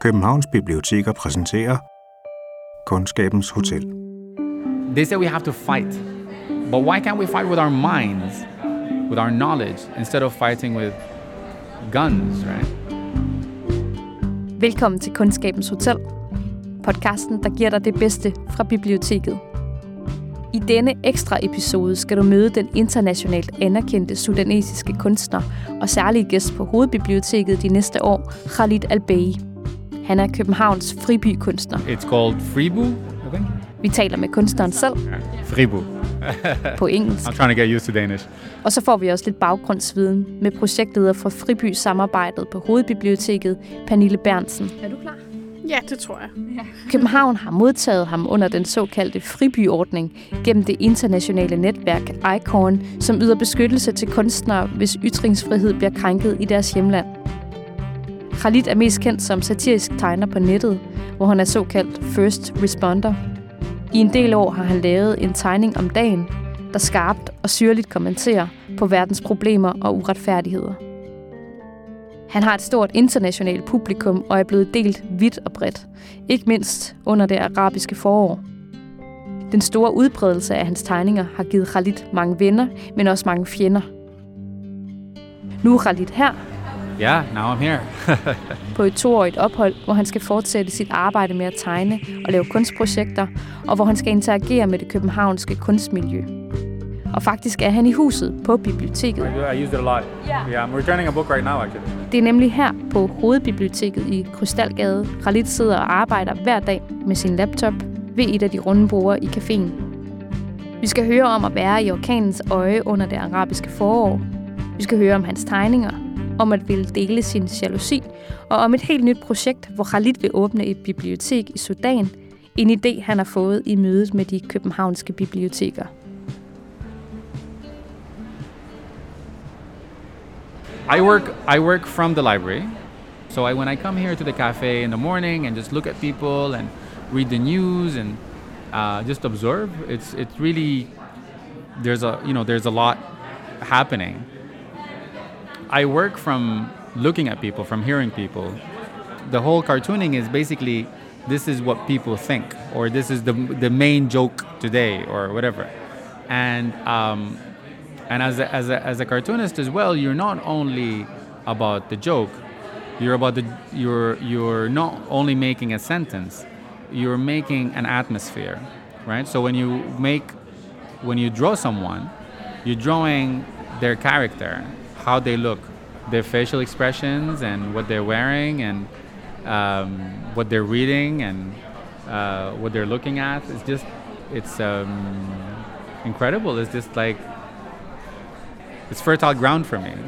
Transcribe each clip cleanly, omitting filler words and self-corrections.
Københavns Biblioteker præsenterer Kundskabens Hotel. They say we have to fight, but why can't we fight with our minds, with our knowledge, instead of fighting with guns, right? Velkommen til Kundskabens Hotel, podcasten, der giver dig det bedste fra biblioteket. I denne ekstra episode skal du møde den internationalt anerkendte sudanesiske kunstner og særlig gæst på Hovedbiblioteket de næste år, Khalid Al-Bey. Han er Københavns fribykunstner. It's called Fribu, I think. Vi taler med kunstneren selv. Fribu. På engelsk. I'm trying to get used to Danish. Og så får vi også lidt baggrundsviden med projektleder for Friby-samarbejdet på Hovedbiblioteket, Pernille Berntsen. Er du klar? Ja, det tror jeg. Ja. København har modtaget ham under den såkaldte fribyordning gennem det internationale netværk ICORN, som yder beskyttelse til kunstnere, hvis ytringsfrihed bliver krænket i deres hjemland. Khalid er mest kendt som satirisk tegner på nettet, hvor han er såkaldt first responder. I en del år har han lavet en tegning om dagen, der skarpt og syrligt kommenterer på verdens problemer og uretfærdigheder. Han har et stort internationalt publikum og er blevet delt vidt og bredt, ikke mindst under det arabiske forår. Den store udbredelse af hans tegninger har givet Khalid mange venner, men også mange fjender. Nu er Khalid her. Yeah, now I'm here. På et 2-årigt ophold, hvor han skal fortsætte sit arbejde med at tegne og lave kunstprojekter, og hvor han skal interagere med det københavnske kunstmiljø. Og faktisk er han i huset på biblioteket. I used it a lot. Yeah, I'm returning a book right now, actually. Det er nemlig her på Hovedbiblioteket i Krystalgade. Khalid sidder og arbejder hver dag med sin laptop ved et af de runde borde i caféen. Vi skal høre om at være i orkanens øje under det arabiske forår. Vi skal høre om hans tegninger, om at ville dele sin jalousi, og om et helt nyt projekt, hvor Khalid vil åbne et bibliotek i Sudan. En idé, han har fået i mødet med de københavnske biblioteker. I work from the library. So when I come here to the cafe in the morning and just look at people and read the news and just observe, it's really there's a lot happening. I work from looking at people, from hearing people. The whole cartooning is basically this is what people think, or this is the main joke today, or whatever. And as a cartoonist as well, you're not only about the joke. You're not only making a sentence. You're making an atmosphere, right? So when you draw someone, you're drawing their character, how they look, their facial expressions, and what they're wearing, and what they're reading, and what they're looking at. It's incredible. It's just like it's fertile ground for me.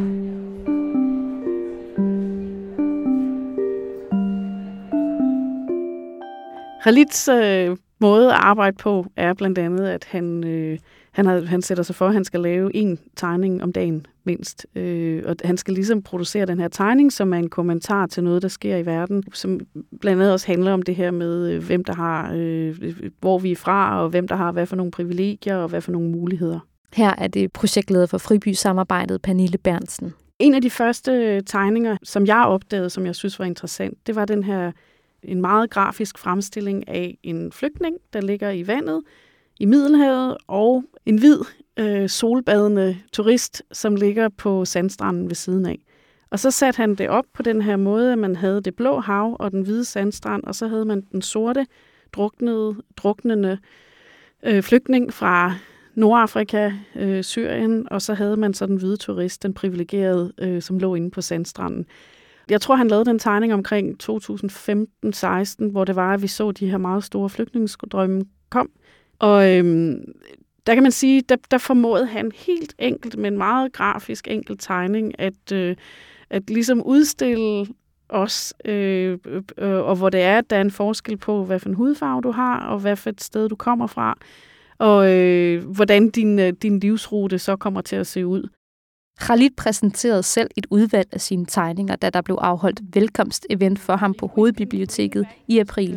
Khalids måde at arbejde på er blandt andet, at han sætter sig for, at han skal lave en tegning om dagen mindst. Og han skal ligesom producere den her tegning, som er en kommentar til noget, der sker i verden, som blandt andet også handler om det her med, hvem der har, hvor vi er fra, og hvem der har hvad for nogle privilegier og hvad for nogle muligheder. Her er det projektleder for Friby-samarbejdet, Pernille Berntsen. En af de første tegninger, som jeg opdagede, som jeg synes var interessant, det var den her en meget grafisk fremstilling af en flygtning, der ligger i vandet i Middelhavet, og en hvid solbadende turist, som ligger på sandstranden ved siden af. Og så satte han det op på den her måde, at man havde det blå hav og den hvide sandstrand, og så havde man den sorte, druknende flygtning fra Nordafrika, Syrien, og så havde man så den hvide turist, den privilegerede, som lå inde på sandstranden. Jeg tror, han lavede den tegning omkring 2015-16, hvor det var, at vi så de her meget store flygtningestrømme kom. Og der kan man sige, der formåede han helt enkelt med en meget grafisk enkel tegning at ligesom udstille os, og hvor det er, at der er en forskel på, hvad for en hudfarve du har, og hvad for et sted du kommer fra, og hvordan din livsrute så kommer til at se ud. Khalid præsenterede selv et udvalg af sine tegninger, da der blev afholdt velkomstevent for ham på Hovedbiblioteket i april.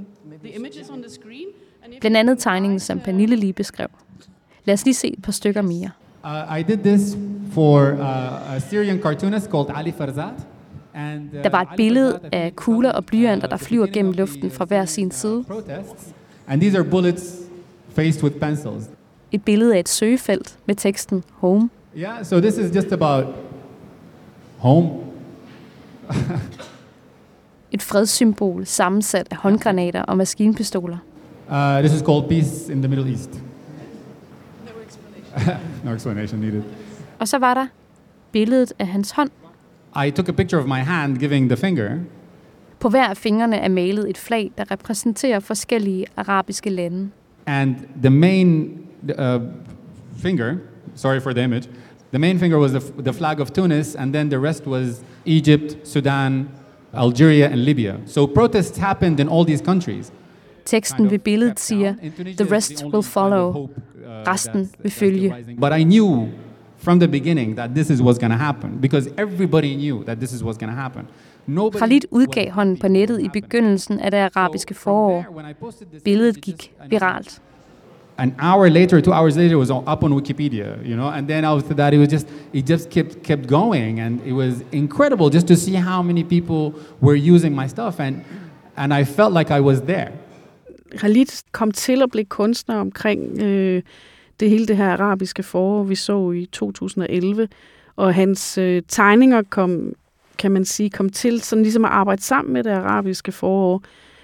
Blandt andet tegningen, som Pernille lige beskrev. Lad os lige se et par stykker mere. I did this for a Syrian cartoonist called Ali Farzad. Der var et billede af kugler og blyanter, der flyver gennem luften fra hver sin side. And these are bullets faced with pencils. Et billede af et søgefelt med teksten Home. Yeah, so this is just about home. Et fredssymbol sammensat af håndgranater og maskinpistoler. This is called peace in the Middle East. No explanation needed. Og så var der billedet af hans hånd. I took a picture of my hand giving the finger. På hver af fingrene er malet et flag, der repræsenterer forskellige arabiske lande. And the main finger, sorry for the image, the main finger was the flag of Tunis, and then the rest was Egypt, Sudan, Algeria and Libya. So protests happened in all these countries. Teksten ved billedet siger, the rest will follow. Resten vil følge. But I knew from the beginning that this was going to happen, because everybody knew that this was going to happen. Khalid udgav hånden på nettet i begyndelsen af det arabiske forår. Billedet gik viralt. An hour later, 2 hours later, it was up on Wikipedia, you know. And then after that, it just kept going, and it was incredible just to see how many people were using my stuff, and I felt like I was there. Khalid kom til at blive kunstner omkring det hele det her arabiske forår, vi så i 2011, og hans tegninger kom til sådan ligesom at arbejde sammen med det arabiske forår.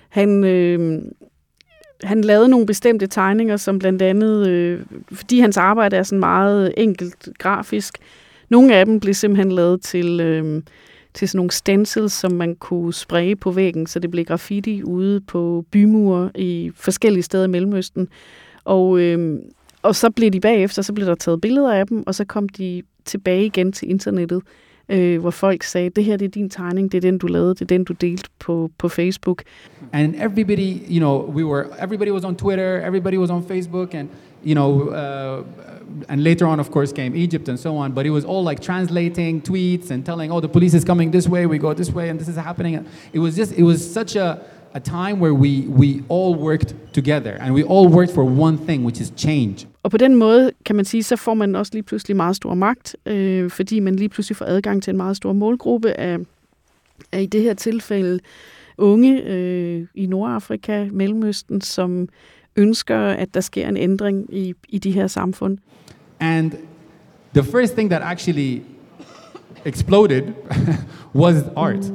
Han lavede nogle bestemte tegninger, som blandt andet, fordi hans arbejde er sådan meget enkelt grafisk, nogle af dem blev simpelthen lavet til sådan nogle stencils, som man kunne spraye på væggen, så det blev graffiti ude på bymure i forskellige steder i Mellemøsten. Og så blev de bagefter, så blev der taget billeder af dem, og så kom de tilbage igen til internettet, hvor folk sagde, det her det er din tegning, det er den du lavede, det er den du delte på Facebook. And everybody, you know, everybody was on Twitter, everybody was on Facebook, and you know, and later on, of course, came Egypt and so on. But it was all like translating tweets and telling, oh, the police is coming this way, we go this way, and this is happening. It was such a time where we all worked together, and we all worked for one thing, which is change. Og på den måde, kan man sige, så får man også lige pludselig meget stor magt, fordi man lige pludselig får adgang til en meget stor målgruppe af i det her tilfælde unge i Nordafrika, Mellemøsten, som ønsker, at der sker en ændring i de her samfund. And the first thing that actually exploded was art.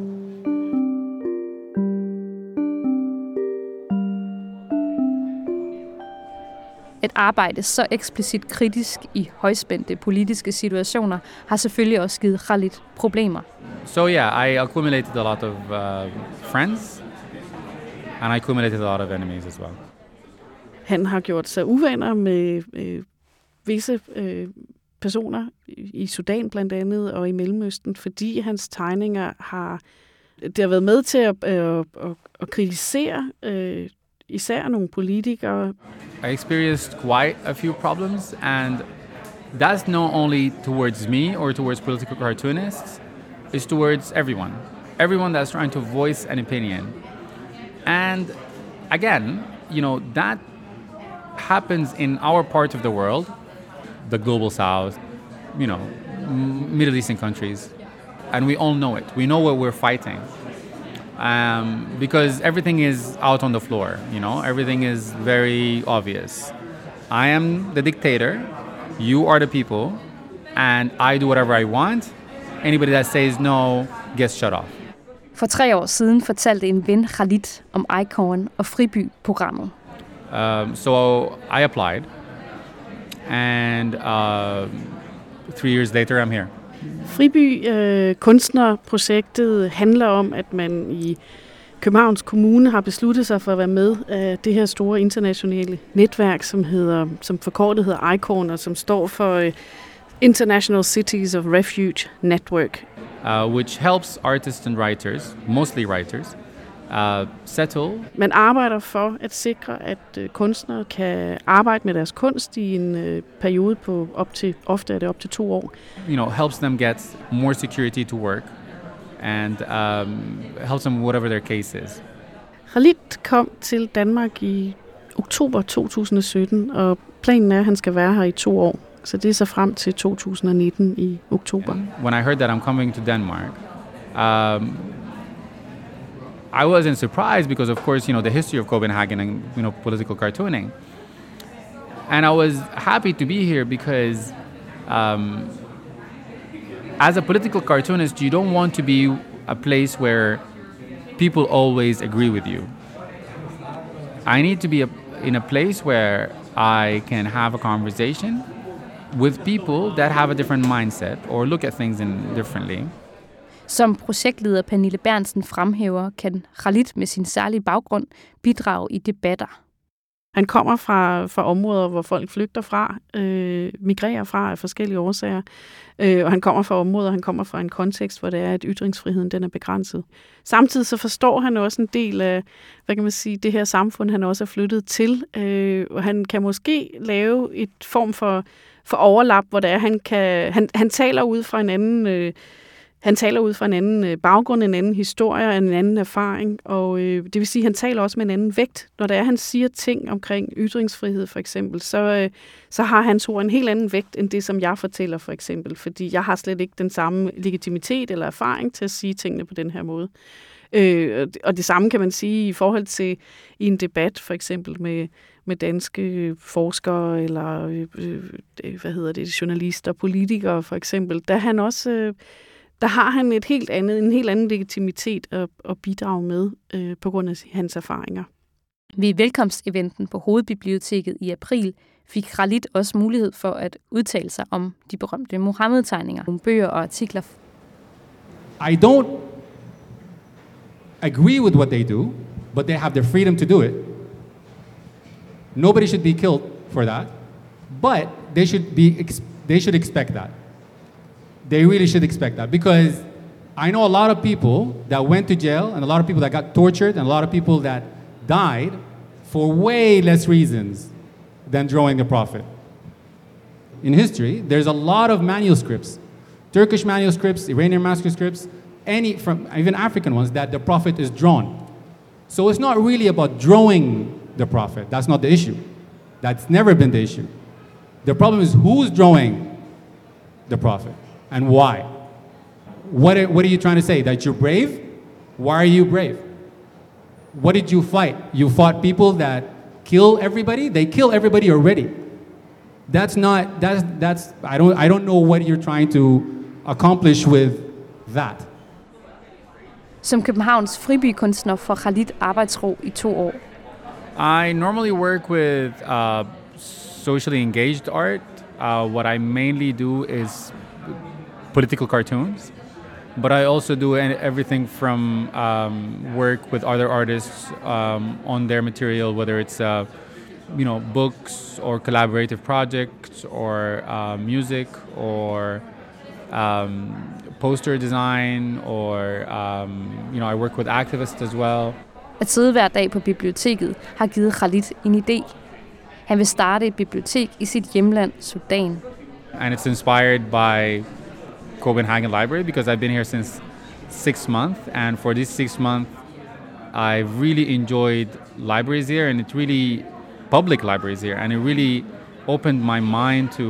At arbejde så eksplicit kritisk i højspændte politiske situationer har selvfølgelig også givet Khalid problemer. So yeah, I accumulated a lot of friends, and I accumulated a lot of enemies as well. Han har gjort sig uvenner med visse personer i Sudan blandt andet og i Mellemøsten, fordi hans tegninger har været med til at kritisere især nogle politikere. I experienced quite a few problems, and that's not only towards me or towards political cartoonists, it's towards everyone. Everyone that's trying to voice an opinion. And again, you know, that happens in our part of the world, the global south, you know, Middle Eastern countries, and we all know it. We know what we're fighting. Because everything is out on the floor, you know, everything is very obvious. I am the dictator, you are the people, and I do whatever I want. Anybody that says no gets shut off. For 3 år siden fortalte en ven Khalid om Icorn og Friby-programmet. So I applied, and 3 years later I'm here. Friby kunstnerprojektet handler om, at man i Københavns Kommune har besluttet sig for at være med af det her store internationale netværk, som forkortet hedder Icorn, og som står for International Cities of Refuge Network. Which helps artists and writers, mostly writers, settle. Man arbejder for at sikre, at kunstnere kan arbejde med deres kunst i en periode på ofte er det op til 2 år. You know, helps them get more security to work, and helps them whatever their case is. Khalid kom til Danmark i oktober 2017, og planen er, at han skal være her i 2 år. Så det er så frem til 2019 i oktober. And when I heard that I'm coming to Denmark, I wasn't surprised because, of course, the history of Copenhagen and, political cartooning. And I was happy to be here because as a political cartoonist, you don't want to be a place where people always agree with you. I need to be in a place where I can have a conversation with people that have a different mindset or look at things differently. Som projektleder Pernille Berntsen fremhæver, kan Khalid med sin særlige baggrund bidrage i debatter. Han kommer fra områder, hvor folk flygter fra, migrerer fra af forskellige årsager. Og han kommer fra en kontekst, hvor det er, at ytringsfriheden den er begrænset. Samtidig så forstår han også en del af, det her samfund, han også er flyttet til. Og han kan måske lave et form for overlap, hvor det er, han taler ud fra en anden... Han taler ud fra en anden baggrund, en anden historie, en anden erfaring, og det vil sige, at han taler også med en anden vægt. Når det er, han siger ting omkring ytringsfrihed for eksempel, så har hans ord en helt anden vægt, end det, som jeg fortæller for eksempel, fordi jeg har slet ikke den samme legitimitet eller erfaring til at sige tingene på den her måde. Og det samme kan man sige i forhold til i en debat for eksempel med danske forskere eller journalister, politikere for eksempel, der har han en helt anden legitimitet at bidrage med på grund af hans erfaringer. Ved velkomsteventen på Hovedbiblioteket i april fik Khalid også mulighed for at udtale sig om de berømte Muhammed-tegninger, nogle bøger og artikler. I don't agree with what they do, but they have the freedom to do it. Nobody should be killed for that, but they should expect that. They really should expect that, because I know a lot of people that went to jail and a lot of people that got tortured and a lot of people that died for way less reasons than drawing the Prophet. In history, there's a lot of manuscripts, Turkish manuscripts, Iranian manuscripts, even African ones, that the Prophet is drawn. So it's not really about drawing the Prophet. That's not the issue. That's never been the issue. The problem is who's drawing the Prophet. And why? What are you trying to say? That you're brave? Why are you brave? What did you fight? You fought people that kill everybody? They kill everybody already. I don't know what you're trying to accomplish with that. Som Københavns fribykunstner får Khalid arbejdsro i 2 år. I normally work with socially engaged art. What I mainly do is political cartoons, but I also do everything from work with other artists on their material, whether it's books or collaborative projects or music or poster design, or I work with activists as well. At sidde hver dag på biblioteket har givet Khalid en idé. Han vil starte et bibliotek i sit hjemland, Sudan. And it's inspired by Copenhagen Library because I've been here since 6 months, and for these 6 months I've really enjoyed libraries here, and it's really public libraries here, and it really opened my mind to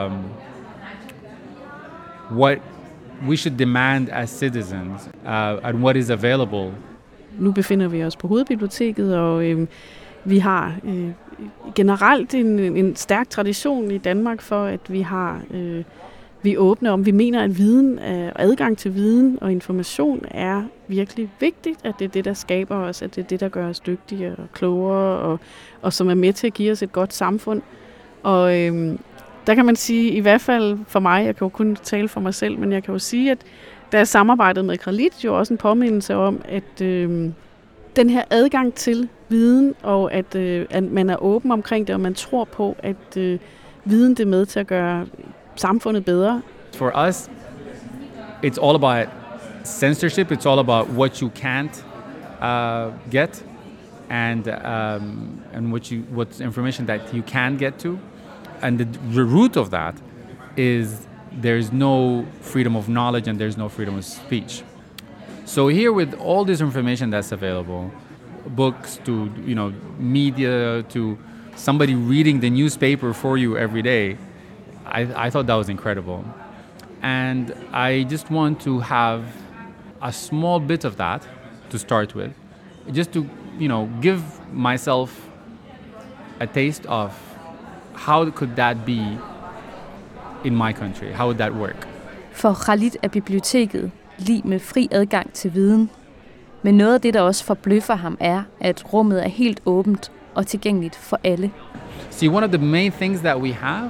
what we should demand as citizens and what is available. Nu befinder vi os på Hovedbiblioteket, og vi har generelt en stærk tradition i Danmark for, at vi er åbne om. Vi mener, at viden, adgang til viden og information er virkelig vigtigt, at det er det, der skaber os, at det er det, der gør os dygtigere og klogere, og som er med til at give os et godt samfund. Og der kan man sige, i hvert fald for mig, jeg kan jo kun tale for mig selv, men jeg kan jo sige, at da jeg samarbejdede med Khalid, jo også en påmindelse om, at den her adgang til viden, og at man er åben omkring det, og man tror på, at viden det er med til at gøre samfundet bedre. For us, it's all about censorship. It's all about what you can't get, and what information that you can get to, and the root of that is there's no freedom of knowledge and there's no freedom of speech. So here, with all this information that's available, books to media to somebody reading the newspaper for you every day, I thought that was incredible. And I just want to have a small bit of that to start with, just to, give myself a taste of how could that be in my country? How would that work? For Khalid er biblioteket lig med fri adgang til viden. Men noget af det, der også forbløffer ham, er, at rummet er helt åbent og tilgængeligt for alle. See, one of the main things that we have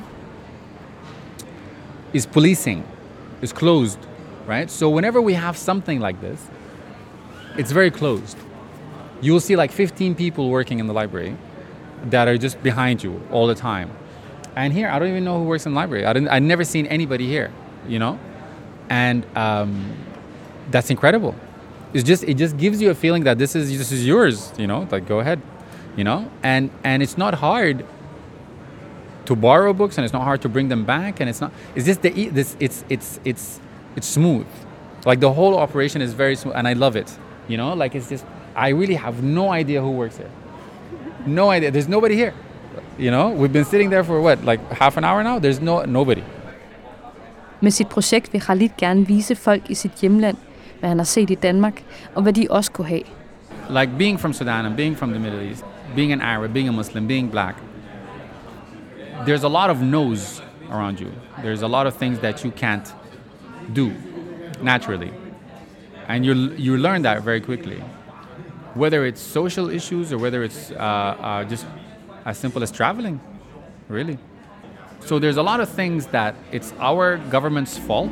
is policing. It's closed, right? So whenever we have something like this, it's very closed. You'll see like 15 people working in the library that are just behind you all the time. And here, I don't even know who works in the library. I've never seen anybody here, And that's incredible. It just gives you a feeling that this is yours, like go ahead, And it's not hard to borrow books, and it's not hard to bring them back, and it's just it's smooth. Like the whole operation is very smooth, and I love it. Like it's just, I really have no idea who works here. No idea. There's nobody here. We've been sitting there for what, like half an hour now? There's nobody. Med sit projekt vil Khalid gerne vise folk i sit hjemland, hvad han har set i Danmark, og hvad de også kunne have. Like being from Sudan and being from the Middle East, being an Arab, being a Muslim, being black, there's a lot of no's around you. There's a lot of things that you can't do naturally. And you learn that very quickly. Whether it's social issues or whether it's just as simple as traveling, really. So there's a lot of things that it's our government's fault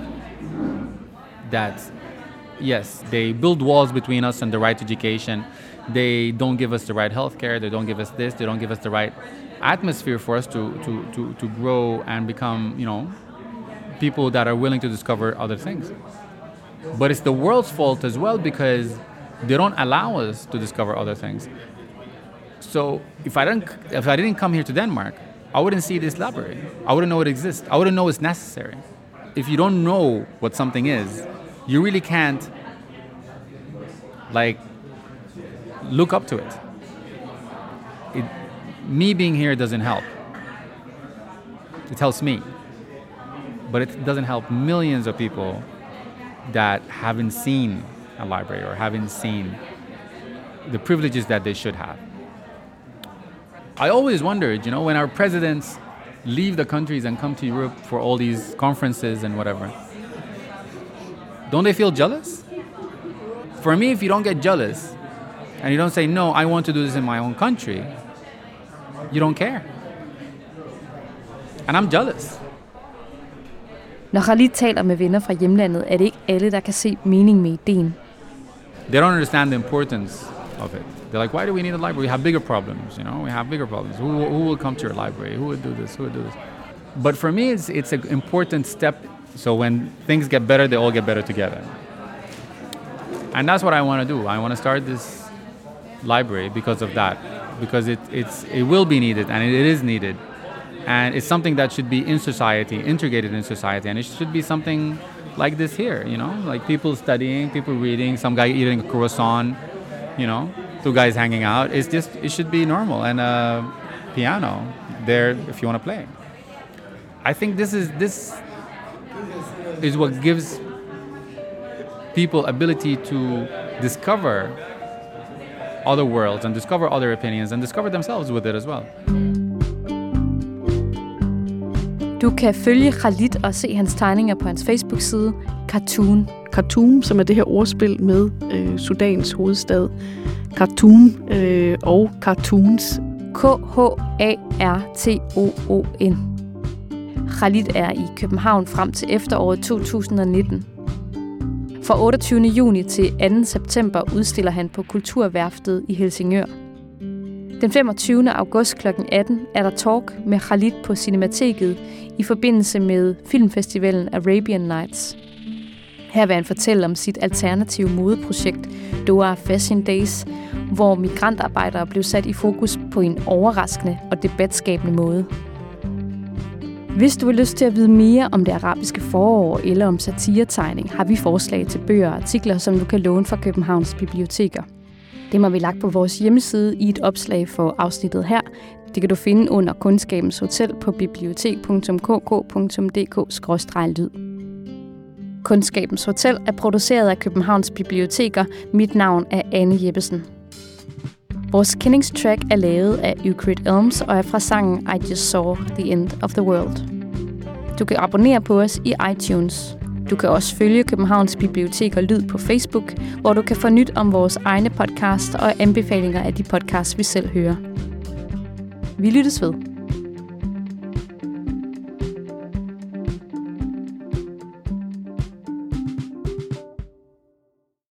that, yes, they build walls between us and the right to education. They don't give us the right healthcare. They don't give us this. They don't give us the right atmosphere for us to grow and become, people that are willing to discover other things. But it's the world's fault as well because they don't allow us to discover other things. So if I didn't come here to Denmark, I wouldn't see this library. I wouldn't know it exists. I wouldn't know it's necessary. If you don't know what something is, you really can't look up to it. Me being here doesn't help. It helps me. But it doesn't help millions of people that haven't seen a library or haven't seen the privileges that they should have. I always wondered, when our presidents leave the countries and come to Europe for all these conferences and whatever, don't they feel jealous? For me, if you don't get jealous and you don't say, no, I want to do this in my own country, you don't care. And I'm jealous. Når Khalid taler med venner fra hjemlandet, er det ikke alle, der kan se mening med ideen. They don't understand the importance of it. They're like, why do we need a library? We have bigger problems, We have bigger problems. Who will come to your library? Who would do this? Who would do this? But for me, it's an important step. So when things get better, they all get better together. And that's what I want to do. I want to start this library because of that. Because it will be needed, and it is needed. And it's something that should be in society, integrated in society. And it should be something like this here, Like people studying, people reading, some guy eating a croissant, two guys hanging out. It should be normal. And a piano there if you want to play. I think this is what gives people ability to discover other worlds and discover other opinions and discover themselves with it as well. Du kan følge Khalid og se hans tegninger på hans Facebook-side, Khartoum. Khartoum, som er det her ordspil med Sudans hovedstad. Khartoum og cartoons. Khartoon. Khalid er i København frem til efteråret 2019. Fra 28. juni til 2. september udstiller han på Kulturværftet i Helsingør. Den 25. august kl. 18 er der talk med Khalid på Cinemateket i forbindelse med filmfestivalen Arabian Nights. Her vil han fortælle om sit alternative modeprojekt Doha Fashion Days, hvor migrantarbejdere blev sat i fokus på en overraskende og debatskabende måde. Hvis du har lyst til at vide mere om det arabiske forår eller om satiretegning, har vi forslag til bøger og artikler, som du kan låne fra Københavns biblioteker. Dem har vi lagt på vores hjemmeside i et opslag for afsnittet her. Det kan du finde under Kundskabens Hotel på bibliotek.kk.dk/lyd. Kundskabens Hotel er produceret af Københavns Biblioteker. Mit navn er Anne Jeppesen. Vores kendingstrack er lavet af Euclid Elms og er fra sangen I Just Saw the End of the World. Du kan abonnere på os i iTunes. Du kan også følge Københavns Biblioteker Lyd på Facebook, hvor du kan få nyt om vores egne podcast og anbefalinger af de podcasts, vi selv hører. Vi lyttes ved.